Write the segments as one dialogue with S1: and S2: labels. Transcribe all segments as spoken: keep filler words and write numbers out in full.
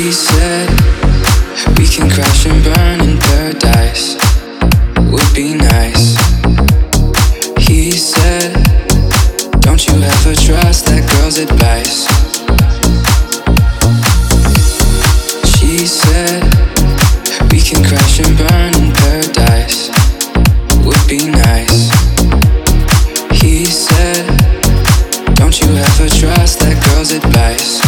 S1: She said we can crash and burn in paradise, would be nice. He said, don't you ever trust that girl's advice. She said we can crash and burn in paradise, would be nice. He said, don't you ever trust that girl's advice.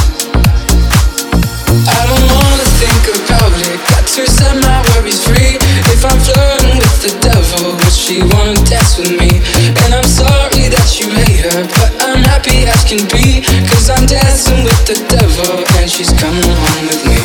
S1: I don't wanna think about it, got to set my worries free. If I'm flirting with the devil, would she wanna dance with me? And I'm sorry that you hate her, but I'm happy as can be, cause I'm dancing with the devil and she's coming home with me.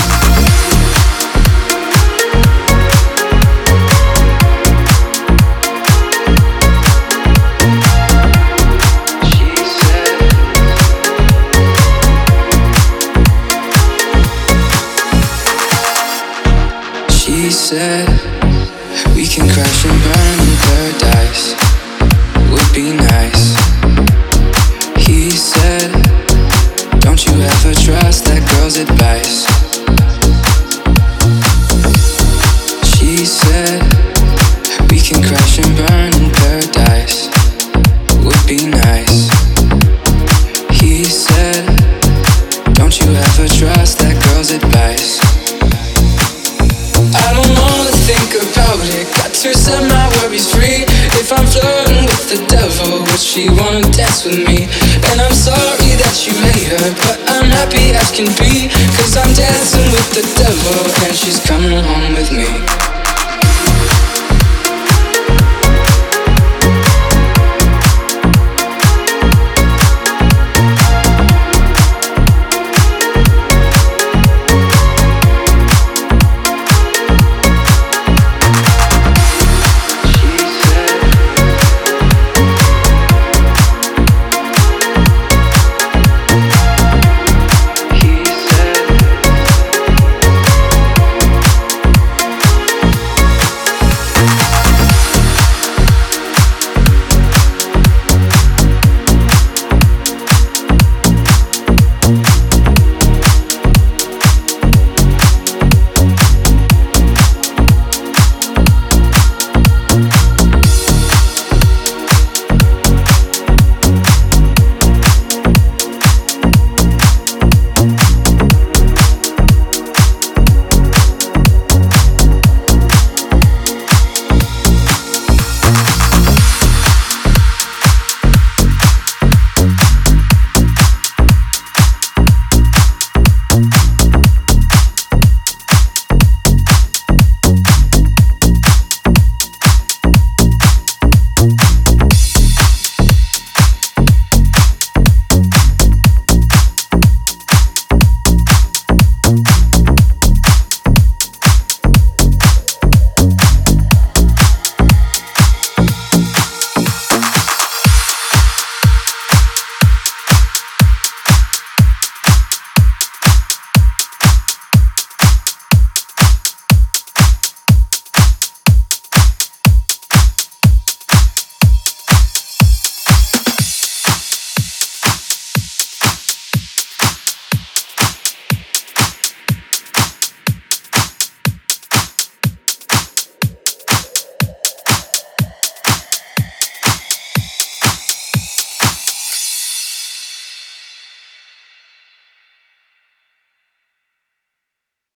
S1: She said we can crash and burn in paradise, would be nice. He said, don't you ever trust that girl's advice. She said we can crash and burn in paradise, would be nice. He said, don't you ever trust that girl's advice. I don't wanna think about it, got to set my worries free. If I'm flirting with the devil, would she wanna dance with me? And I'm sorry that you hate her, but I'm happy as can be, cause I'm dancing with the devil and she's coming home with me.